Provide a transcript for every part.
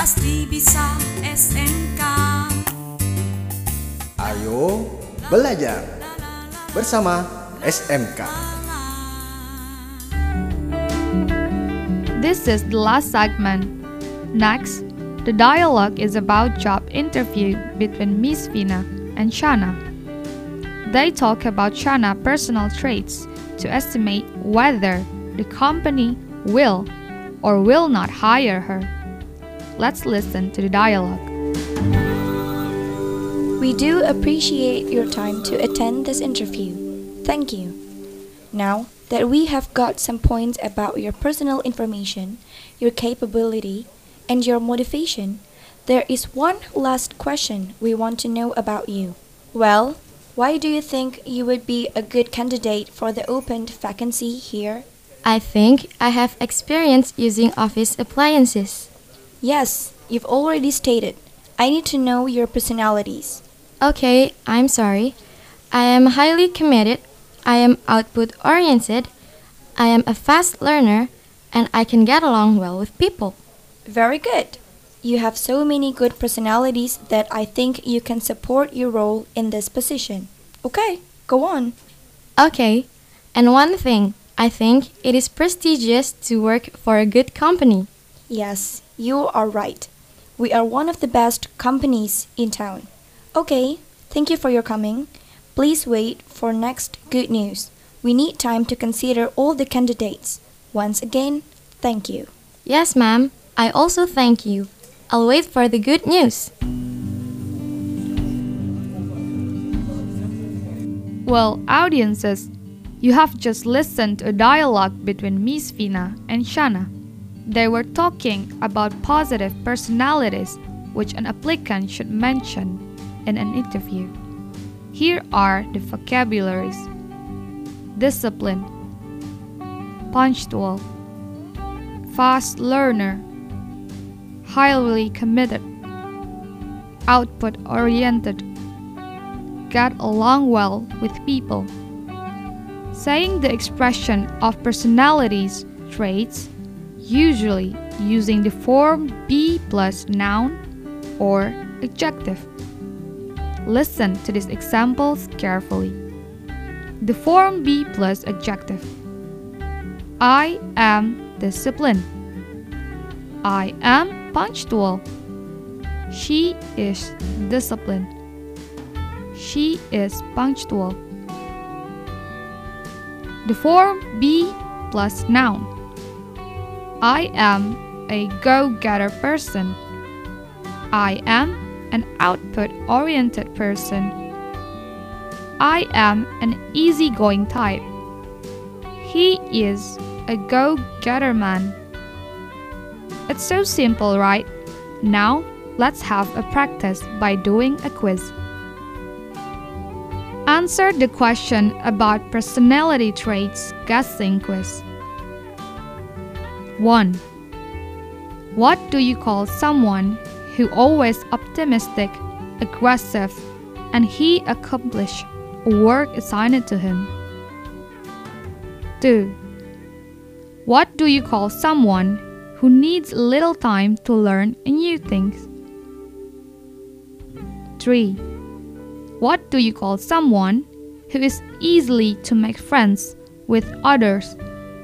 pasti bisa SMK. Ayo belajar bersama SMK. This is the last segment. Next, the dialogue is about job interview between Miss Vina and Shana. They talk about Shana's personal traits to estimate whether the company will or will not hire her. Let's listen to the dialogue. We do appreciate your time to attend this interview. Thank you. Now that we have got some points about your personal information, your capability, and your motivation, there is one last question we want to know about you. Well, why do you think you would be a good candidate for the opened vacancy here? I think I have experience using office appliances. Yes, you've already stated. I need to know your personalities. Okay, I'm sorry. I am highly committed. I am output-oriented. I am a fast learner, and I can get along well with people. Very good. You have so many good personalities that I think you can support your role in this position. Okay, go on. Okay, and one thing, I think it is prestigious to work for a good company. Yes, you are right. We are one of the best companies in town. Okay, thank you for your coming. Please wait for next good news. We need time to consider all the candidates. Once again, thank you. Yes, ma'am. I also thank you. I'll wait for the good news. Well, audiences, you have just listened to a dialogue between Miss Vina and Shana. They were talking about positive personalities which an applicant should mention in an interview. Here are the vocabularies: discipline, punctual, fast learner, highly committed, output-oriented, get along well with people. Saying the expression of personalities traits, usually using the form be plus noun or adjective. Listen to these examples carefully. The form be plus adjective. I am disciplined. I am punctual. She is disciplined. She is punctual. The form be plus noun. I am a go-getter person. I am an output-oriented person. I am an easygoing type. He is a go-getter man. It's so simple, right? Now, let's have a practice by doing a quiz. Answer the question about personality traits guessing quiz. 1. What do you call someone who always optimistic, aggressive, and he accomplish work assigned to him? 2. What do you call someone who needs little time to learn new things? 3. What do you call someone who is easily to make friends with others?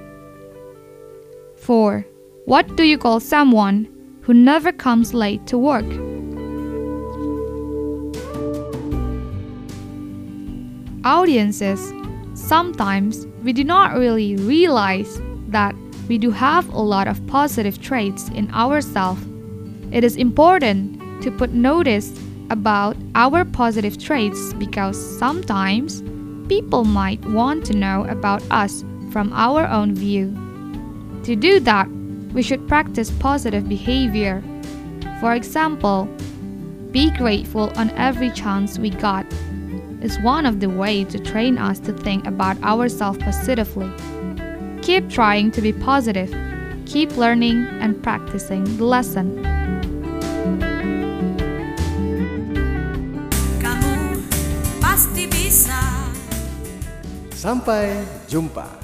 4. What do you call someone who never comes late to work? Audiences, sometimes we do not really realize that we do have a lot of positive traits in ourselves. It is important to put notice about our positive traits because sometimes people might want to know about us from our own view. To do that, we should practice positive behavior. For example, be grateful on every chance we got is one of the ways to train us to think about ourselves positively. Keep trying to be positive. Keep learning and practicing the lesson. Kamu pasti bisa. Sampai jumpa.